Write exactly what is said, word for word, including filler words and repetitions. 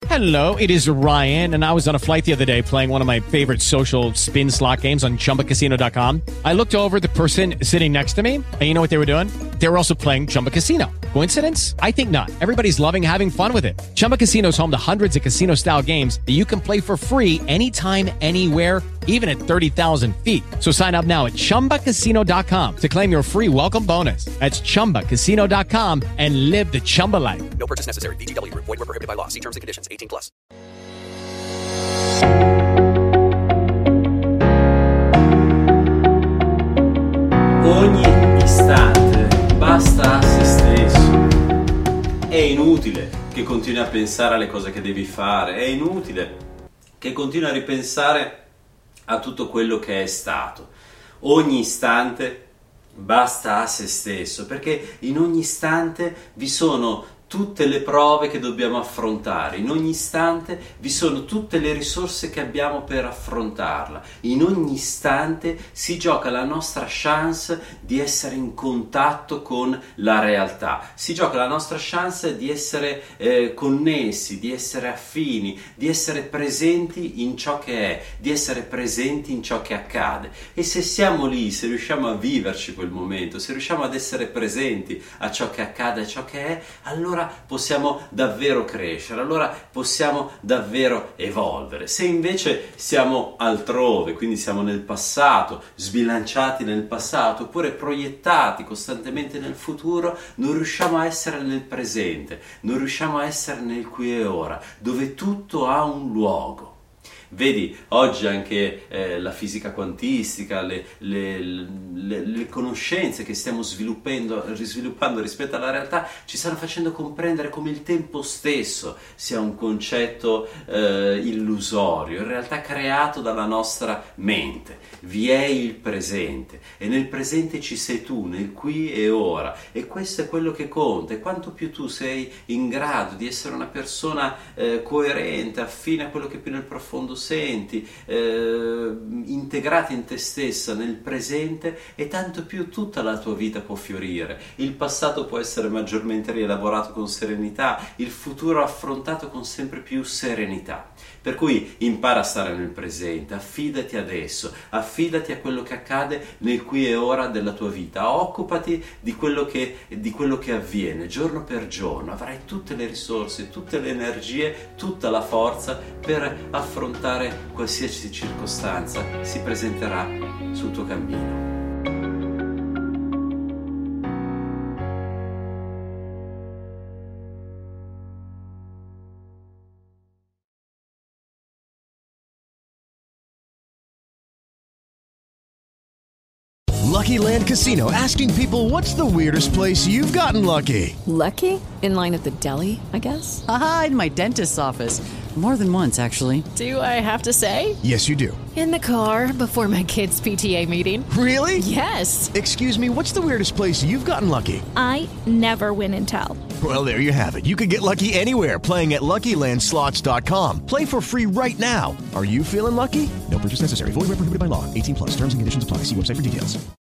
Hello, it is Ryan, and I was on a flight the other day playing one of my favorite social spin slot games on Chumba Casino dot com. I looked over at the person sitting next to me, and you know what they were doing? They were also playing Chumba Casino. Coincidence? I think not. Everybody's loving having fun with it. Chumba Casino is home to hundreds of casino-style games that you can play for free anytime, anywhere, even at thirty thousand feet. So sign up now at Chumba Casino dot com to claim your free welcome bonus. That's Chumba Casino dot com and live the Chumba life. No purchase necessary. V G W. Void where prohibited by law. See terms and conditions. eighteen plus. Ogni istante basta a se stesso. È inutile che continui a pensare alle cose che devi fare, è inutile che continui a ripensare a tutto quello che è stato. Ogni istante basta a se stesso, perché in ogni istante vi sono tutte le prove che dobbiamo affrontare, in ogni istante vi sono tutte le risorse che abbiamo per affrontarla, in ogni istante si gioca la nostra chance di essere in contatto con la realtà, si gioca la nostra chance di essere eh, connessi, di essere affini, di essere presenti in ciò che è, di essere presenti in ciò che accade. E se siamo lì, se riusciamo a viverci quel momento, se riusciamo ad essere presenti a ciò che accade, a ciò che è, allora possiamo davvero crescere, allora possiamo davvero evolvere. Se invece siamo altrove, quindi siamo nel passato, sbilanciati nel passato, oppure proiettati costantemente nel futuro, non riusciamo a essere nel presente, non riusciamo a essere nel qui e ora, dove tutto ha un luogo. Vedi, oggi anche eh, la fisica quantistica, le, le, le, le conoscenze che stiamo sviluppando, risviluppando rispetto alla realtà ci stanno facendo comprendere come il tempo stesso sia un concetto eh, illusorio, in realtà creato dalla nostra mente. Vi è il presente e nel presente ci sei tu, nel qui e ora, e questo è quello che conta. E quanto più tu sei in grado di essere una persona eh, coerente, affine a quello che più nel profondo senti, eh, integrata in te stessa nel presente, e tanto più tutta la tua vita può fiorire. Il passato può essere maggiormente rielaborato con serenità, il futuro affrontato con sempre più serenità. Per cui impara a stare nel presente, affidati adesso, affidati a quello che accade nel qui e ora della tua vita, occupati di quello che, di quello che avviene giorno per giorno. Avrai tutte le risorse, tutte le energie, tutta la forza per affrontare qualsiasi circostanza si presenterà sul tuo cammino. Lucky Land Casino, asking people, what's the weirdest place you've gotten lucky? Lucky? In line at the deli, I guess? Aha, in my dentist's office. More than once, actually. Do I have to say? Yes, you do. In the car before my kids' P T A meeting. Really? Yes. Excuse me, what's the weirdest place you've gotten lucky? I never win and tell. Well, there you have it. You can get lucky anywhere, playing at Lucky Land Slots dot com. Play for free right now. Are you feeling lucky? No purchase necessary. Void where prohibited by law. eighteen plus. Terms and conditions apply. See website for details.